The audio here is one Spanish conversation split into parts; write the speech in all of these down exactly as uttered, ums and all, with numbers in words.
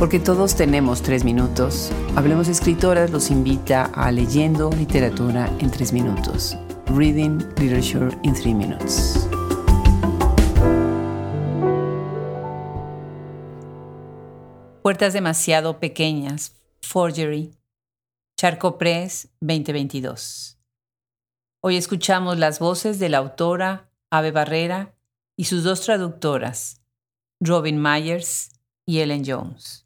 Porque todos tenemos tres minutos, Hablemos Escritoras los invita a Leyendo Literatura en tres minutos. Reading Literature in three minutes. Puertas demasiado pequeñas. Forgery. Charco Press veinte veintidós. Hoy escuchamos las voces de la autora Ave Barrera y sus dos traductoras, Robin Myers y Ellen Jones.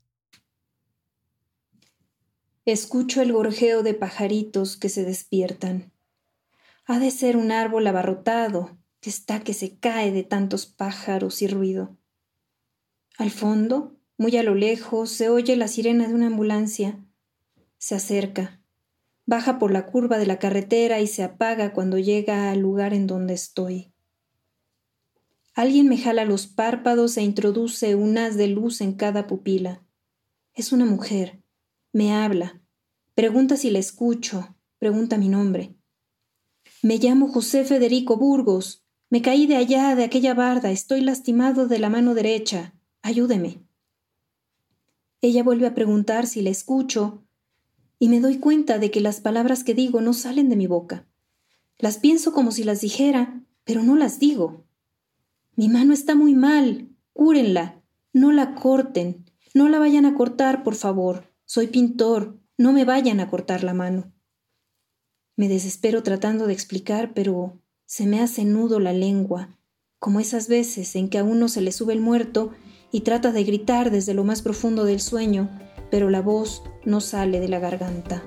Escucho el gorjeo de pajaritos que se despiertan. Ha de ser un árbol abarrotado que está que se cae de tantos pájaros y ruido. Al fondo, muy a lo lejos, se oye la sirena de una ambulancia. Se acerca, baja por la curva de la carretera y se apaga cuando llega al lugar en donde estoy. Alguien me jala los párpados e introduce un haz de luz en cada pupila. Es una mujer. Me habla. Pregunta si la escucho. Pregunta mi nombre. Me llamo José Federico Burgos. Me caí de allá, de aquella barda. Estoy lastimado de la mano derecha. Ayúdeme. Ella vuelve a preguntar si la escucho y me doy cuenta de que las palabras que digo no salen de mi boca. Las pienso como si las dijera, pero no las digo. Mi mano está muy mal. Cúrenla. No la corten. No la vayan a cortar, por favor. Soy pintor. No me vayan a cortar la mano. Me desespero tratando de explicar, pero se me hace nudo la lengua, como esas veces en que a uno se le sube el muerto y trata de gritar desde lo más profundo del sueño, pero la voz no sale de la garganta.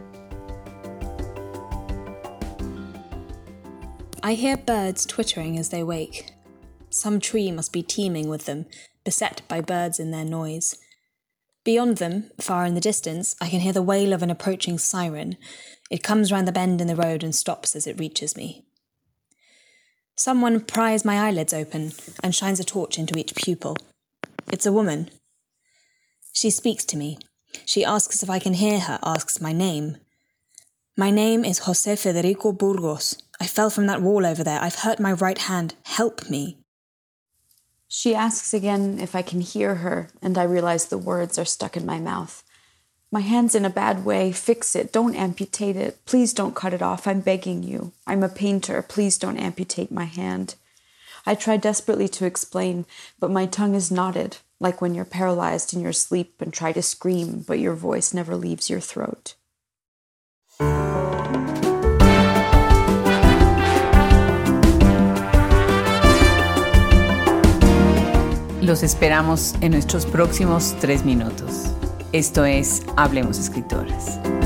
I hear birds twittering as they wake. Some tree must be teeming with them, beset by birds in their noise. Beyond them, far in the distance, I can hear the wail of an approaching siren. It comes round the bend in the road and stops as it reaches me. Someone pries my eyelids open and shines a torch into each pupil. It's a woman. She speaks to me. She asks if I can hear her, asks my name. My name is José Federico Burgos. I fell from that wall over there. I've hurt my right hand. Help me. She asks again if I can hear her, and I realize the words are stuck in my mouth. My hand's in a bad way. Fix it. Don't amputate it. Please don't cut it off. I'm begging you. I'm a painter. Please don't amputate my hand. I try desperately to explain, but my tongue is knotted, like when you're paralyzed in your sleep and try to scream, but your voice never leaves your throat. Los esperamos en nuestros próximos tres minutos. Esto es Hablemos Escritoras.